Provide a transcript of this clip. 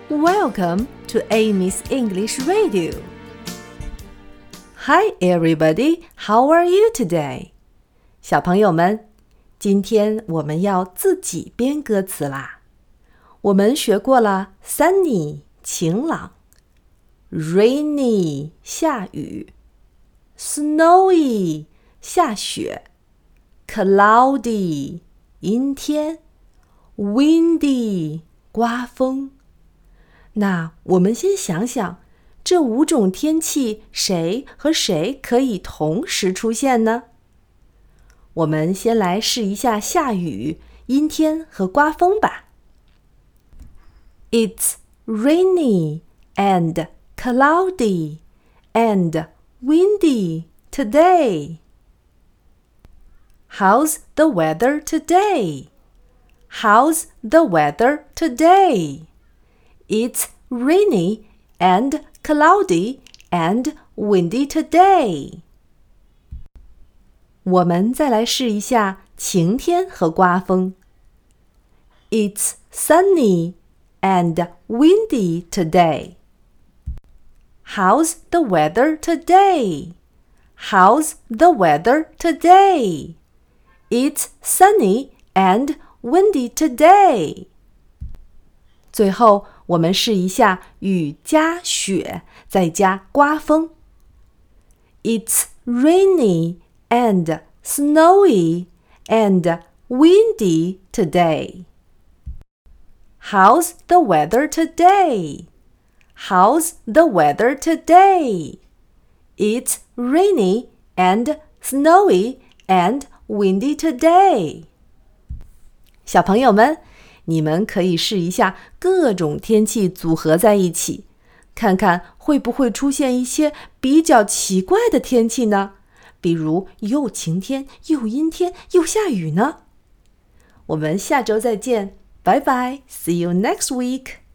Welcome to Amy's English Radio. Hi everybody, how are you today? 小朋友们，今天我们要自己编歌词啦。我们学过了 sunny 晴朗， rainy 下雨， snowy 下雪， cloudy 阴天， windy 刮风。那我们先想想，这5种天气谁和谁可以同时出现呢？我们先来试一下下雨、阴天和刮风吧。It's rainy and cloudy and windy today. How's the weather today? How's the weather today?It's rainy and cloudy and windy today. 我们再来试一下晴天和刮风。It's sunny and windy today. How's the weather today? How's the weather today? It's sunny and windy today. 最后我们试一下雨加雪再加刮风。It's rainy and snowy and windy today. How's the weather today? How's the weather today? It's rainy and snowy and windy today. 小朋友们，你们可以试一下各种天气组合在一起，看看会不会出现一些比较奇怪的天气呢？比如又晴天又阴天又下雨呢？我们下周再见，拜拜 ，See you next week.